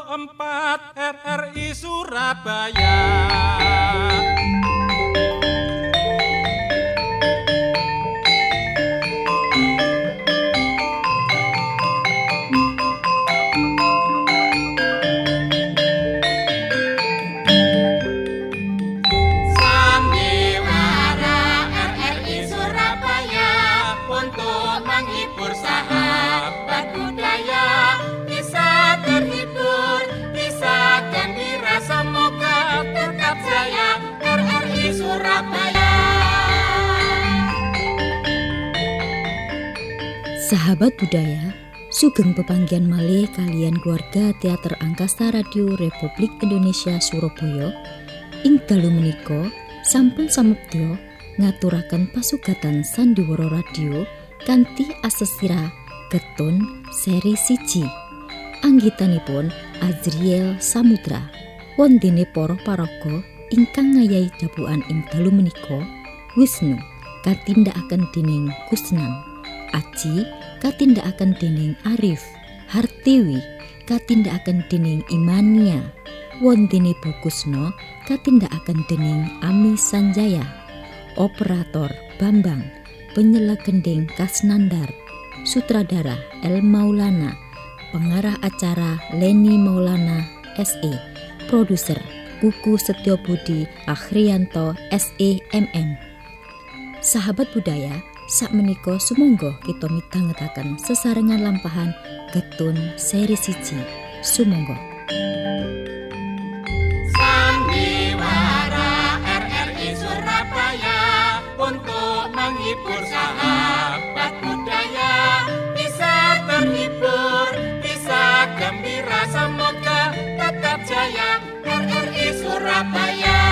4 RRI Surabaya. Sahabat budaya, sugeng pepanggihan malih kalian keluarga Teater Angkasa Radio Republik Indonesia Surabaya. Ing dalu menika sampun samebya ngaturaken pasugatan Sandiwara Radio kanthi asesira Getun seri 1. Anggitanipun Azriel Samudra. Wondene para paraga ingkang ngayahi dabukan ing dalu menika Wisnu katindakaken dening Kusnan, Aji katindakaken dening Arif, Hartiwi katindakaken dening Imania, wondene Bu Kusno katindakaken dening Ami Sanjaya, operator Bambang, penyela gending Kasnandar, sutradara El Maulana, pengarah acara Leni Maulana SE, produser Kuku Setyobudi Akhrianto SE MM. Sahabat budaya, sakmenika sumangga kita midhangetaken sesarengan lampahan Getun seri 1. Sumangga. Sandiwara RRI Surabaya untuk menghibur sahabat budaya, bisa terhibur, bisa gembira, semoga tetap jaya RRI Surabaya.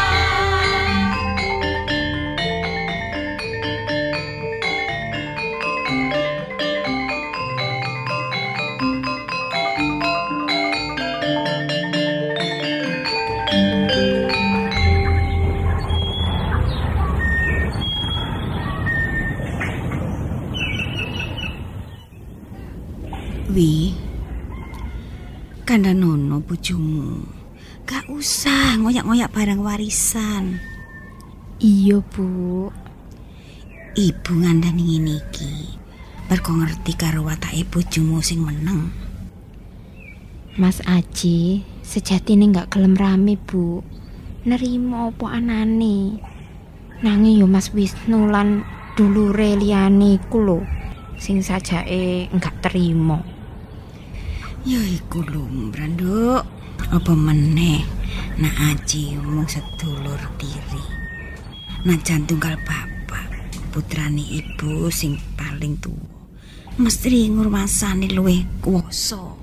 Wi, kandhanono bojomu. Gak usah ngoyak-ngoyak barang warisan. Iya, Bu. Ibu ngandani ngene iki. Mergo ngerti karo watake bojomu sing meneng. Mas Aji, sejatine gak gelem rame, Bu. Nerimo apa anane. Nanging yo Mas Wisnu lan dulure liyane iku lho sing sajake gak terima. Ya iku lumrah, Nduk. Apa meneh nak Aji mung sedulur tiri. Najan tunggal bapak, putrane ibu sing paling tuwa. Mesti ngurmasani luwih kuwasa.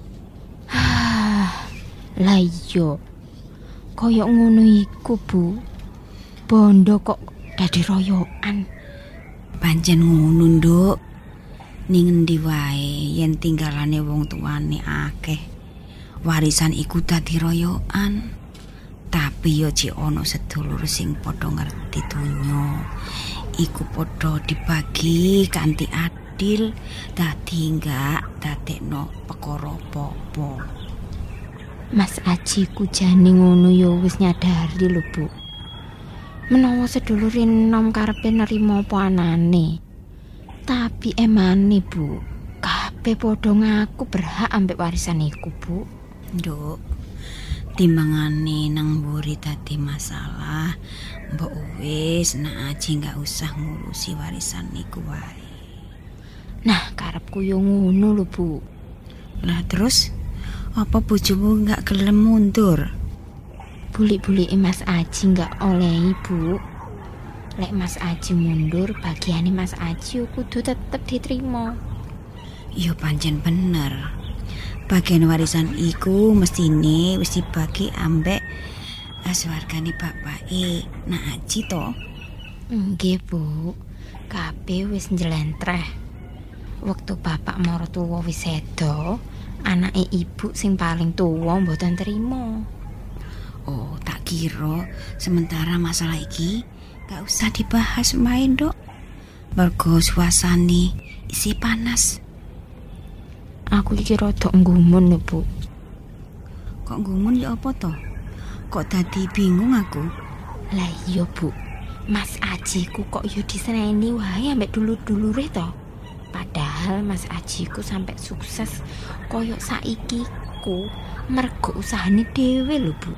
Lah iya. Kaya ngono iku, Bu. Bondo kok dadi royokan. Pancen ngono, Nduk. Ning endi wae yen tinggalane wong tuane akeh, warisan iku dadi royokan. Tapi yo jek ana sedulur sing padha ngerti donya, iku padha dibagi kanthi adil, dadi enggak dadekno perkara apa-apa. Mas Aji ku jane ngono yo wis nyadari lho, Bu. Menawa sedulur enom karepe nerima apa anane. Tapi emane, Bu, kabeh padha ngaku berhak ambek warisan iku, Bu. Nduk, timbangane nang mburi dadi masalah, mbok wis nak Aji gak usah ngurusi warisan iku wae. Nah, karepku yo ngono lho, Bu. Lah terus apa bojomu gak gelem mundur? Bulik-bulike Mas Aji gak olehi, Bu. Lek Mas Aji mundur, bagiane Mas Aji kudu tetep diterima. Yo pancen bener. Bagian warisan iku mestine wis dibagi ambek swargane bapake nak Aji to. Nggih, Bu. Kabeh wis njlentreh. Wektu bapak maratuwa wis seda, anake ibu sing paling tuwa mboten terima. Oh, tak kira sementara masalah iki gak usah dibahas main, Dok. Mergo suasane isi panas. Aku iki rada nggumun lho, Bu. Kok gumun ya apa to? Kok dadi bingung aku? Lah iya, Bu. Mas Ajiku kok yo diseneni wae ambek dulur-dulure to. Padahal Mas Ajiku sampai sukses koyo saiki ku mergo usahane dhewe lho, Bu.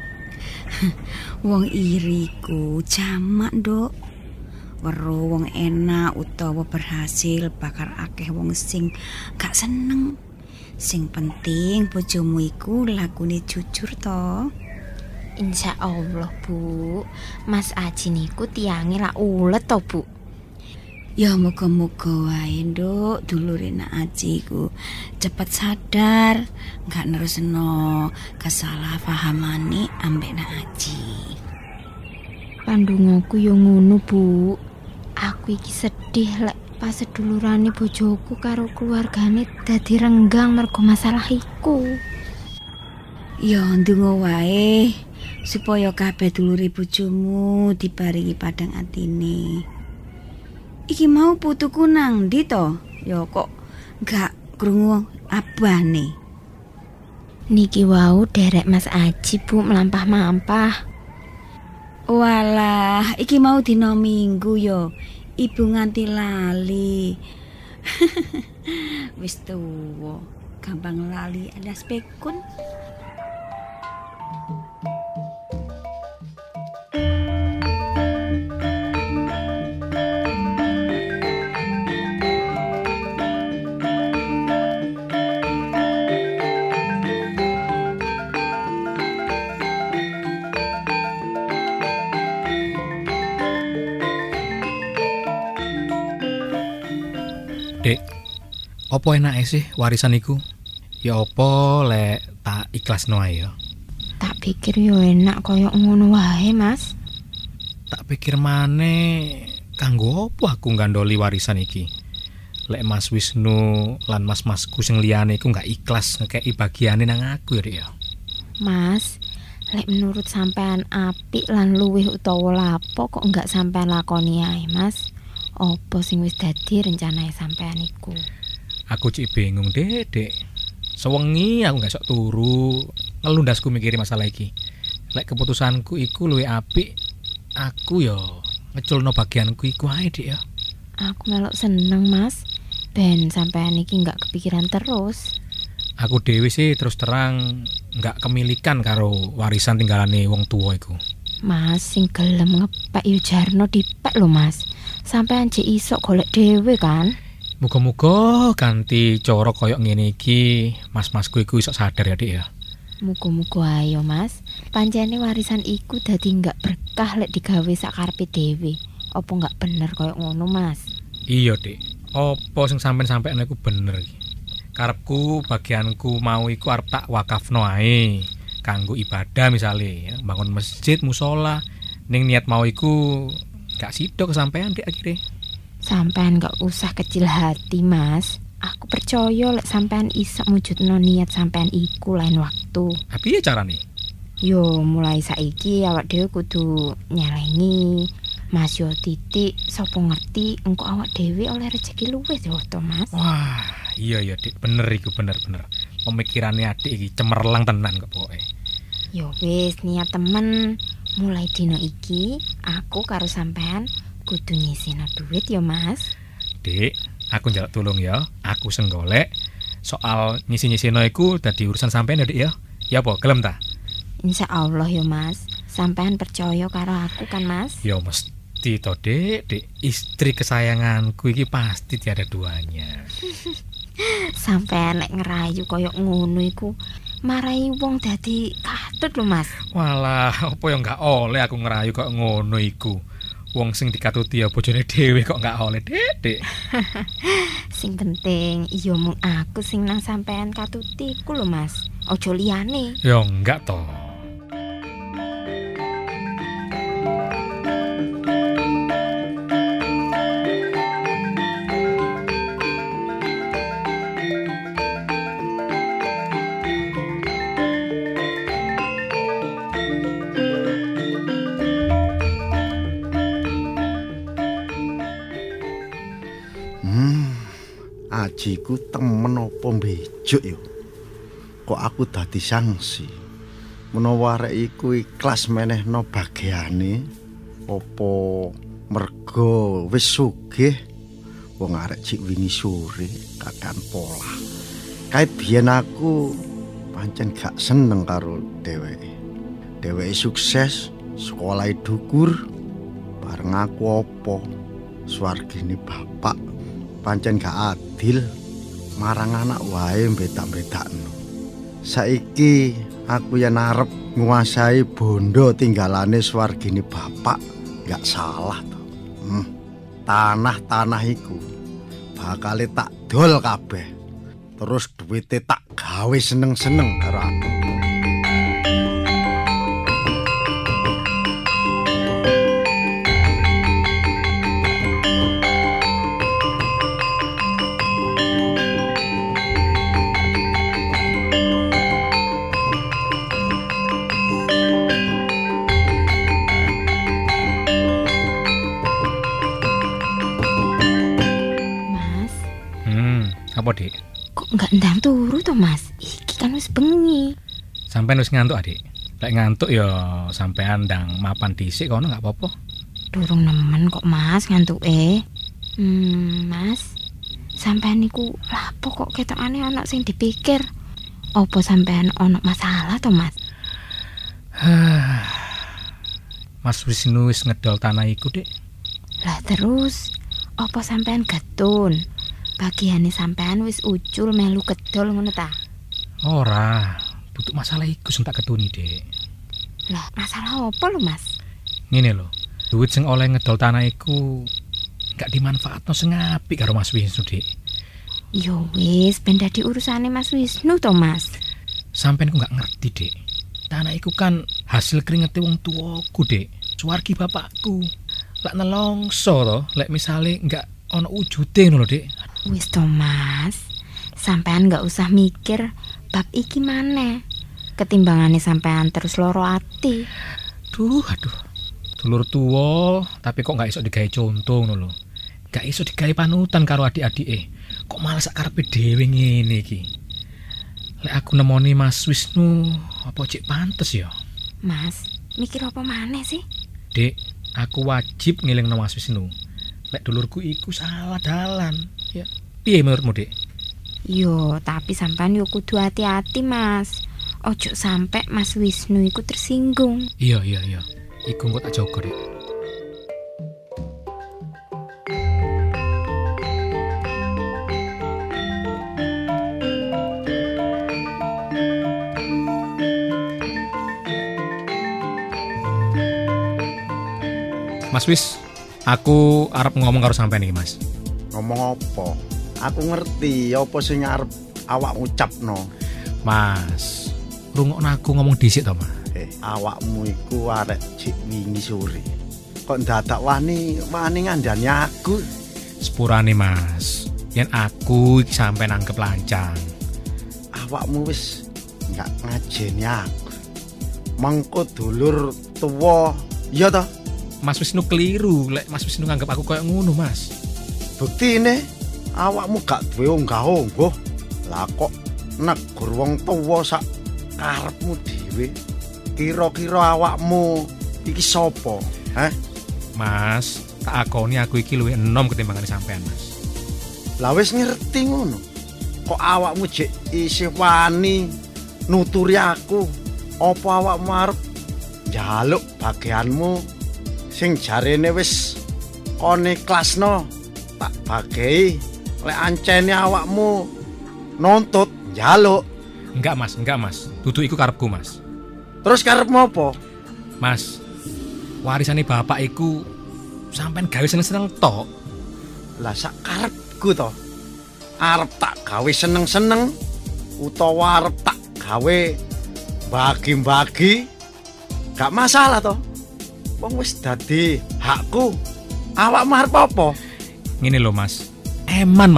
Wong iriku jamak, Nduk. Weruh wong enak utawa berhasil bakal akeh wong sing gak seneng. Sing penting bojomu iku lakune jujur to. Insya Allah, Bu. Mas Aji niku tiange lak ulet to, Bu. Ya muga-muga wae, Nduk, dulure Nak Aji ku cepet sadar, gak nerusno kesalahpahamane ambek Nak Aji. Pandungoku yo ngono, Bu. Aku iki sedih lek pas sedulurane bojoku karo keluargane dadi renggang mergo masalah iku. Ya ndonga wae supaya kabeh dulure bojomu diparingi padang atine. Iki mau putuku nang ndi to? Ya kok gak krungu abane. Niki wau derek Mas Aji, Bu, melampah-mampah. Walah, iki mau dina Minggu ya. Ibu nganti lali. Wis tuwa, gampang lali alias pekun. Dek, opo enake sih warisan iku? Ya opo lek tak ikhlasno ae ya. Tak pikir yo enak koyo ngono wae, Mas. Tak pikir maneh kanggo opo aku gandoli warisan iki. Lek Mas Wisnu lan mas-masku sing liyane iku gak ikhlas ngekeki bagiane nang aku ya, Dek ya. Mas, lek menurut sampean apik lan luwih utawa lapo kok enggak sampean lakoni ae, Mas? Apa sing wis dadi rencanae sampean iku? Aku cik bingung, Dek. Sewengi aku gak sok turu ngelundasku mikiri masalah iki. Lek keputusanku iku luwih apik, aku yo ngeculno bagianku iku ae, Dek ya. Aku melok seneng, Mas. Ben sampean iki enggak kepikiran terus. Aku dhewe sih terus terang gak kemilikan karo warisan tinggalane wong tuwa iku. Mas, sing gelem ngepek yo jarno dipek lho, Mas. Sampean jek iso golek dhewe kan? Muga-muga ganti cara koyo ngene iki, mas-masku iku iso sadar ya, Dik ya. Muga-muga ayo, Mas. Pancene warisan iku dadi enggak berkah lek digawe sakarepe dhewe. Apa enggak bener koyo ngono, Mas? Iya, Dik. Apa sing sampean iku bener iki. Karepku bagianku mau iku arep tak wakafno ae kanggo ibadah misale, ya. Bangun masjid, musola. Ning niat mau iku gak sido kesampean, Dik, akhirnya. Sampean gak usah kecil hati, Mas. Aku percaya lek sampean iso mujudno niat sampean iku lain waktu. Tapi ya carane. Yo mulai saiki awak dhewe kudu nyelengi. Mas yo titik sapa ngerti engko awak dhewe oleh rezeki luwih yo to, Mas. Wah, iya Dik, bener iku bener. Pemikirannya adik iki cemerlang tenan kok pokoke. Yo wis niat temen. Mulai dino iki aku karo sampean kudu nyisihno duit yo, Mas. Dik, aku njaluk tulung ya. Aku sing golek. Soal nyisi-nyisino iku dadi urusan sampean ya, Dik ya. Ya apa, gelem ta? Insya Allah yo, Mas. Sampean percaya karo aku kan, Mas? Ya mesti to, Dik. Istri kesayanganku iki pasti tiada duanya. Sampean lek ngerayu koyo ngono iku marai wong dadi katut lho, Mas. Walah, apa ya gak oleh aku ngerayu kok ngono iku. Wong sing dikatuti ya bojone dhewe kok gak oleh, Dik. Sing penting iya mung aku sing nang sampean katuti iku lho, Mas. Ojo liyane. Ya enggak toh. Ajiku temen apa mbejok ya? Kok aku dadi sanksi? menawa arek iku ikhlas menehno bagiane apa mergo wis sugih. Wong arek cik wingi sore kakan pola. Kae biyen aku pancen gak seneng karo dheweke. Dheweke sukses, sekolah dhukur, bareng aku apa swargine bapak. Pancen gak adil marang anak wae bedak-bedakno. Saiki aku yen arep nguasai bondo tinggalane swargine bapak, gak salah to. Tanah-tanah iku bakal tak dol kabeh. Terus duwite tak gawe seneng-seneng karo aku. Apa, Dik? Kok enggak ndang turu to, Mas? Iki kan wis bengi. Sampeyan wis ngantuk, Adik? Lek ngantuk ya sampean ndang mapan dhisik kono enggak apa-apa. Durung nemen kok, Mas, ngantuke. Mas. Sampeyan niku lapo kok ketokane ana sing dipikir? Apa sampeyan ana masalah to, Mas? Mas Wisnu wis ngedol tanah iku, Dik. Lah terus apa sampeyan getun? Bagiane sampean wis ucul melu kedol ngono ta? Ora, butuh masalah iku sing tak ketuni, Dik. Lah, masalah apa lho, Mas? Ngene lho, duit sing oleh ngedol tanah iku gak dimanfaatno sing apik karo Mas Wisnu, Dik. Yo wis, ben dadi urusane Mas Wisnu to, Mas. Sampeyan ku gak ngerti, Dik. Tanah iku kan hasil keringete wong tuaku, Dik. Suwargi bapakku. Lek nelongso to, lek misale gak ono wujude ngono, Dik. Wis to, Mas. Sampean gak usah mikir bab iki maneh. Ketimbangane sampean terus loro ati. Aduh. Dulur tuwa, tapi kok gak iso digawe contoh ngono lho. Gak iso digawe panutan karo adik-adike. Kok malah sak karepe dhewe ngene iki. Lek aku nemoni Mas Wisnu, apa cek pantes ya? Mas, mikir apa maneh sih? Dik, aku wajib ngelingno Mas Wisnu. Lek dulurku iku salah dalan, ya. Piye menurutmu, Dik? Yo, tapi sampean yo kudu hati-hati, Mas. Ojo sampe Mas Wisnu iku tersinggung. Iya. Iku engko tak jaga, Dik. Mas Wis, aku arep ngomong karo sampean iki, Mas. Ngomong apa? Aku ngerti apa sing arep awak ngucapno. Mas, rungokno aku ngomong dhisik to, Mas. Awakmu iku arek cik wingi sore. Kok ndadak wani ngandani aku? Sepurane, Mas. Yen aku iki sampe nangkep lancang. Awakmu wis enggak ngajeni aku. Mengko dulur tuwa, iya toh? Mas Wisnu keliru, lek Mas Wisnu nganggep aku koyo ngono, Mas. Buktine awakmu gak duwe unggah-ungguh. Lah kok negur wong tuwa sak karepmu dhewe. Kira-kira awakmu iki sapa? Mas, tak akoni aku iki luwih enom ketimbangane sampean, Mas. Lah wis ngerti ngono. Kok awakmu jek isih wani nuturi aku? Apa awakmu arep njaluk bagianmu sing jarene wis kon ikhlasno tak bagehi lek ancene awakmu nuntut njaluk? Enggak, Mas. Dudu iku karepku, Mas. Terus karepmu apa? Mas, warisane bapak iku sampean gawe seneng-seneng tok. Lah sak karepku to. Arep tak gawe seneng-seneng utawa arep tak gawe bagi-bagi gak masalah to. Wong wis dadi hakku. Awakmu arep apa? Ngene lho, Mas. Eman.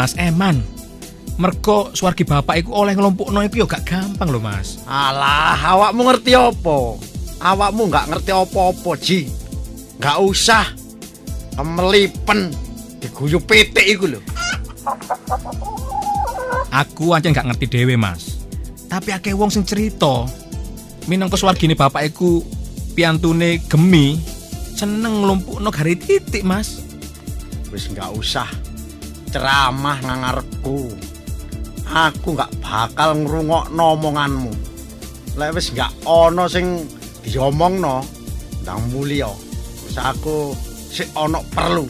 Mergo swargi bapak iku oleh nglompokno iku ya gak gampang lho, Mas. Alah, awakmu ngerti apa? Awakmu gak ngerti apa-apa, Ji. Gak usah kemelipen diguyu pitik iku lho. Aku aja gak ngerti dhewe, Mas. Tapi akeh wong sing cerita minangka swargine bapak iku piantune Gemi, seneng nglumpukno gari titik, Mas. Wis enggak usah ceramah nang ngarepku. Aku enggak bakal ngrungokno omonganmu. Lek wis enggak ana sing diomongno ndang mulya. Wis aku sik ana perlu.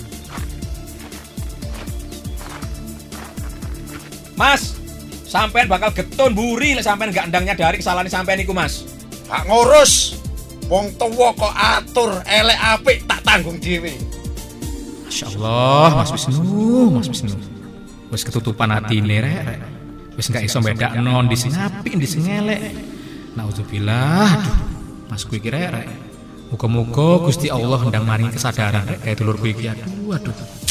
Mas, sampean bakal getun mburi lek sampean gak ndang nyadari kesalahan sampean iku, Mas. Gak ngurus. Wong tuwa kok atur elek apik tak tanggung dhewe. Masyaallah, Mas Wisnu. Wis ketutupan atine rek. Wis gak iso bedakno ndi sing apik ndi sing elek. Nauzubillah. Aduh, Masku iki rek. Muga-muga Gusti Allah ndang maringi kesadaran rek kaya dulurku iki. Aduh.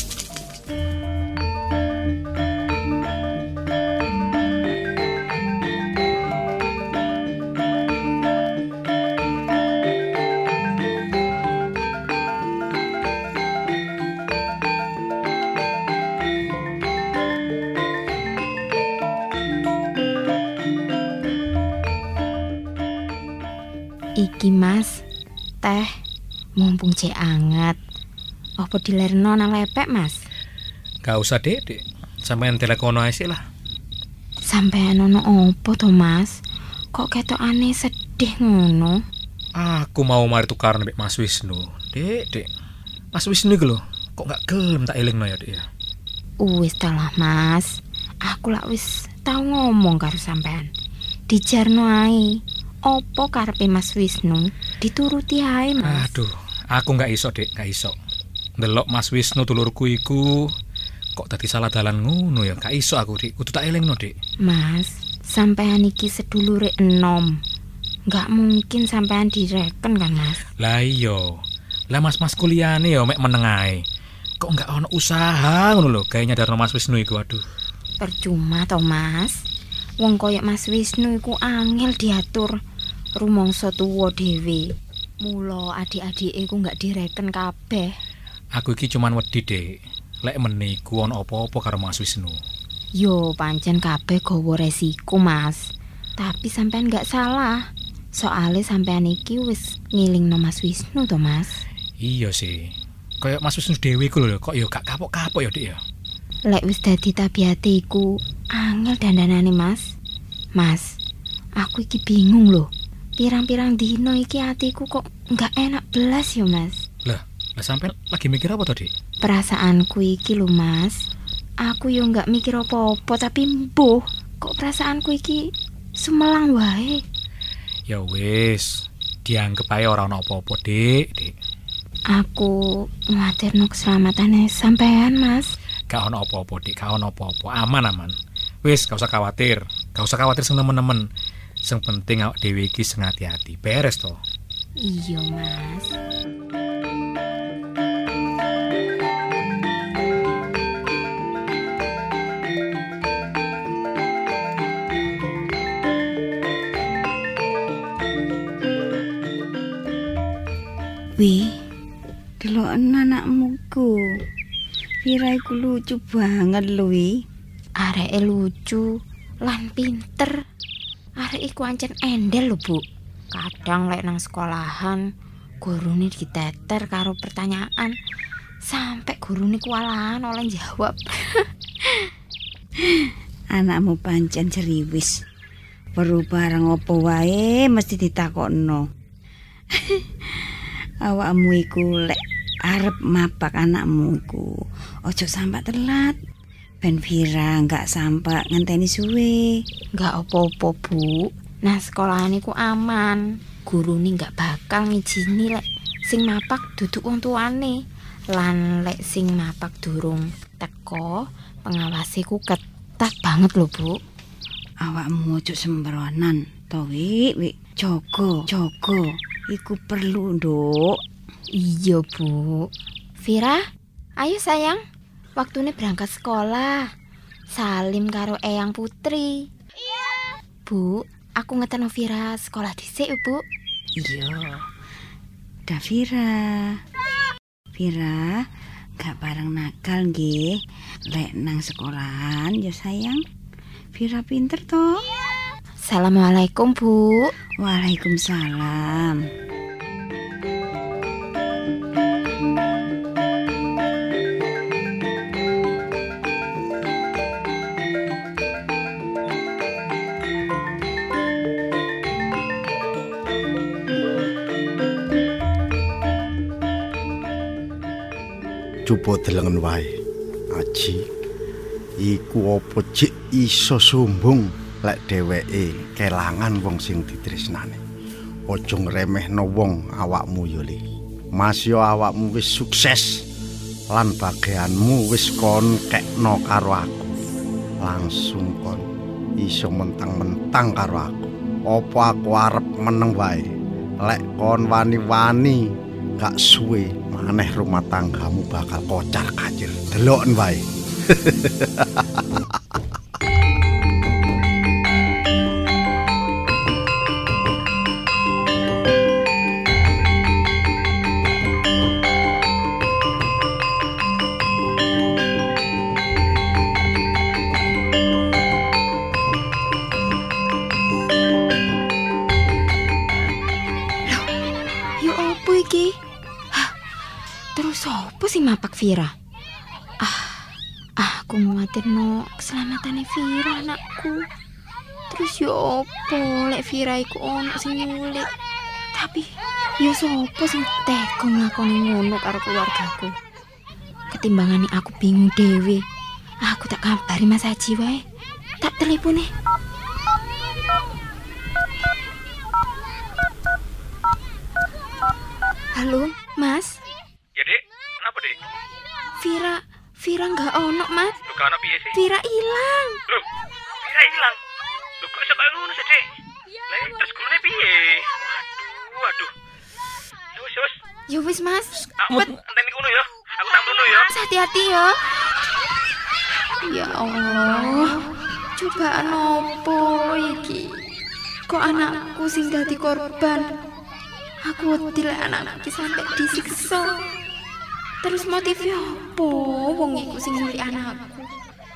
Iki Mas, teh mumpung cek anget. Apa dilerno nang lepek, Mas? Gak usah, Dek. Sampeyan telekono ae sik lah. Sampeyan ono opo to, Mas? Kok ketokane sedih ngono? Aku mau mari tukaran mbek Mas Wisnu. Dek. Mas Wisnu iku lho, kok gak gelem tak elingno ya, Dek ya. Wis ta lah, Mas. Aku lak wis tau ngomong karo sampean. Dijarno ae. Opo karepe Mas Wisnu dituruti ae, Mas. Aduh, aku gak iso, Dek, gak iso. Ndelok Mas Wisnu dulurku iku kok dadi salah dalan ngono ya, gak iso aku, Dik. Kudu tak elingno, Dik. Mas, sampean iki sedulure enom. Gak mungkin sampean direken kan, Mas? Lah iya. Lah mas-mas kuliahane ya mek meneng ae. Kok gak ono usaha ngono lho, gawe nyadarno Mas Wisnu iku, aduh. Percuma to, Mas. Wong koyo Mas Wisnu iku angel diatur. Rumangsa tuwa dhewe. Mula adik-adike iku gak direken kabeh. Aku iki cuman wedi, Dek. Lek meniku ono apa-apa karo Mas Wisnu. Yo, pancen kabeh gawa resiko, Mas. Tapi sampean gak salah. Soale sampean iki wis ngilingno Mas Wisnu to, Mas. Iya sih. Kayak Mas Wisnu dhewe iku lho, kok ya gak kapok-kapok ya, Dik ya. Lek wis dadi tabiate iku angel dandanane, Mas. Mas, aku iki bingung lho. Pirang-pirang dino iki atiku kok gak enak belas yo, Mas. Lah sampean lagi mikir apa to, Dik? Perasaanku iki lho, Mas. Aku yo gak mikir apa-apa, tapi mbuh kok perasaanku iki sumelang wae. Ya wis, dianggep ae ora ono apa-apa, Dik. Aku nguatirno keselamatane sampean, Mas. Gak ono apa-apa, Dik, gak ono apa-apa. Aman. Wis, gak usah khawatir. Gak usah khawatir sing temen-temen. Sing penting awak dhewe iki sing hati-hati. Beres to? Iya, Mas. Wih, deloken anakmu ku. Vira iku lucu banget lho, wi. Areke lucu lan pinter. Arek iku ancen endel lho, Bu. Kadang lek nang sekolahan gurune diteter karo pertanyaan sampai gurune kewalahan oleh jawab. Anakmu pancen ceriwis. Perlu barang apa wae mesti ditakokno. Awakmu iku lek arep mapak anakmu iku ojo sampai telat. Ben Vira gak sampai ngenteni suwe. Gak apa-apa, Bu. Nah, sekolahan iku aman. Gurune gak bakal ngijini lek sing mapak duduk wong tuane. Lan lek sing mapak durung teko, pengawasiku ketat banget lho, Bu. Awakmu ojo sembronan, to wi. Jogo. Iku perlu, Nduk. Iya, Bu. Vira, ayo sayang. Waktune berangkat sekolah. Salim karo Eyang Putri. Iya. Bu, aku ngeteno Vira sekolah dhisik, Bu. Iya. Da Vira, gak bareng nakal nggih. Lek nang sekolahan ya sayang. Vira pinter toh? Assalamualaikum, Bu. Waalaikumsalam. Coba delengen wae, Aji. Iku apa cik iso sumbung lek dheweke kelangan wong sing ditresnani. Aja ngremehno wong awakmu yo, Le. Mas yo awakmu wis sukses lan bagianmu wis kon kekno karo aku. Langsung kon iso mentang-mentang karo aku. Apa aku arep meneng wae? Lek kon wani-wani gak suwe maneh rumah tanggamu bakal kocar kacir. Deloken wae. Terus apa sih mapak Vira? Aku nguatirno keselamatan Vira anakku. Terus yo opo lek Vira iku ono sing nyulik. Tapi yo sopo sing tega nglakoni ngono karo keluargaku. Ketimbangane aku bingung dhewe. Aku tak kabari Mas Haji wae. Tak telepone. Halo, Mas. Ya, Dek. Kenapa, Dek? Vira nggak ono, Mas. Lu gak ono piye sih? Vira hilang. Loh, Vira hilang. Lu kok iso kaya ngono sih, Dek? Lah, terus gurune piye? Waduh. Wis. Ya wis, Mas. Cepet enteni kono ya. Aku tak mrono ya. Mas, hati-hati ya. Ya Allah. Cobaan opo iki? Kok anakku sing dadi korban? Aku wedi lek anakku sampai disiksa. Terus motifnya apa? Wong iku sing nyulik anakku.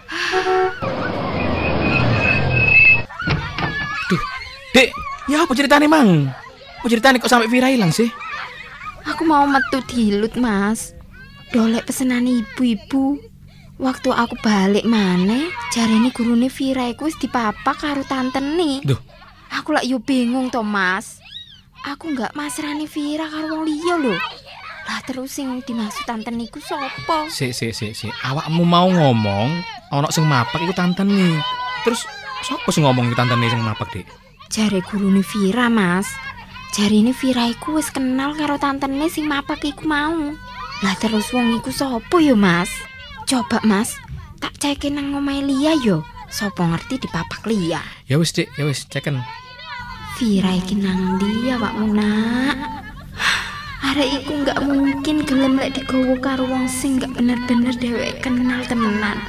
Duh, Dek, ya apa ceritane, Mang? Apa ceritane kok sampai Vira hilang sih? Aku mau metu dilut, Mas. Dolek pesenan ibu-ibu. Waktu aku balik maneh, jarene gurune Vira iku wis dipapak karo tantene. Duh, aku lak yo bingung to, Mas. Aku nggak masrani Vira karo wong liya lho. Lah terus sing dimaksud tantene iku sapa? Sik. Awakmu mau ngomong ana sing mapak iku tantene. Terus sapa sing ngomong iku tantene sing mapak, Dik? Jare gurune Vira, Mas. Jarine Vira iku wis kenal karo tantene sing mapak iku mau. Lah terus wong iku sapa yo, Mas? Coba, Mas, tak cekin nang omahe Lia yo. Sapa ngerti dipapak Lia. Ya wis, Dik, ya wis, ceken. Vira iki nang ndi awakmu, Nak? Arek iku nggak mungkin gelem lek digowo karo wong sing nggak bener-bener dheweke kenal temenan.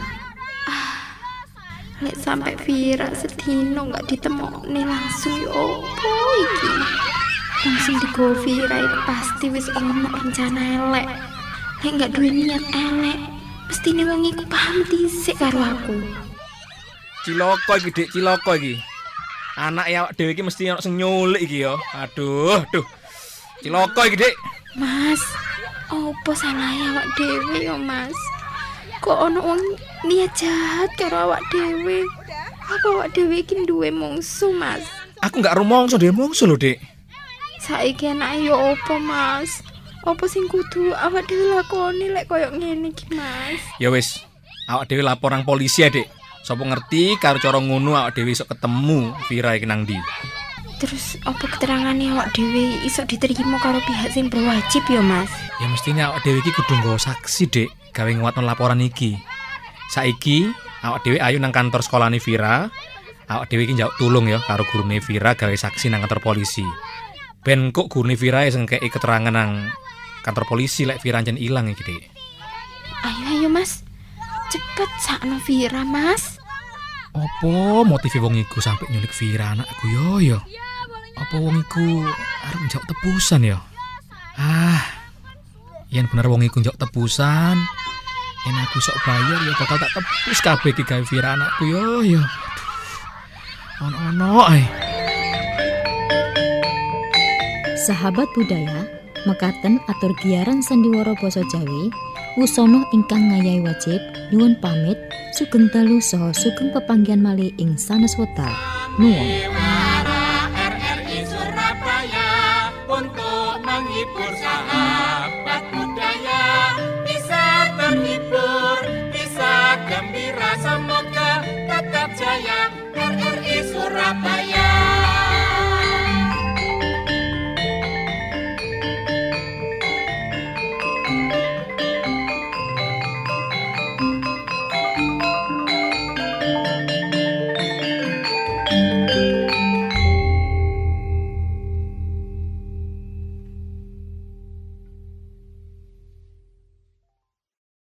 Lek sampai Vira sedino nggak ditemokne langsung yo opo iki? Wong sing digowo Vira iku pasti wis ono rencana elek. Lek nggak duwe niat elek, mestine wong iku paham dhisik karo aku. Ciloko iki, Dik, ciloko iki. Anak ya awak dhewe iki mesti ono sing nyulik iki ya. Aduh. Ciloko iki, Dik. Mas, opo salahe awak dhewe ya, Mas? Kok ono wong niat jahat karo awak dhewe? Apa awak dhewe iki duwe mungsuh, Mas? Aku gak rumangsa dhewe mungsuh lho, Dik. Saiki enak ya opo, Mas? Opo sing kudu awak dhewe lakoni lek koyo ngene iki, Mas? Ya wis, awak dhewe lapor nang polisi ya, Dik. Sapa ngerti karo cara ngono awak dhewe iso ketemu Vira iki nang ndi. Terus apa keterangane awak dhewe iso diterima karo pihak sing berwajib ya, Mas? Ya mestine awak dhewe iki kudu nggawa saksi, Dik, gawe nguatno laporan iki. Saiki awak dhewe ayo nang kantor sekolahane Vira. Awak dhewe iki njaluk tulung ya karo gurune Vira gawe saksi nang kantor polisi. Ben kok gurune Vira sing kei keterangan nang kantor polisi lek Vira ancen ilang iki, Dik. Ayo Mas. Cepet sakno Vira, Mas. Apa motive wong iku sampai nyulik Vira anakku yo? Apa wong iku arep njak tebusan ya? Yen bener wong iku njak tebusan, yen aku sok bayar ya bakal tak tebus kabeh iki gawe Vira anakku yo. Ono ae. Sahabat budaya, mekaten atur giaran sandiwara basa Jawi, wusana ingkang ngayahi wajib nyuwun pamit sugeng dalu saha sugeng pepanggihan malih ing sanes wekdal. Nuwun. RRI Surabaya untuk menghibur sahabat.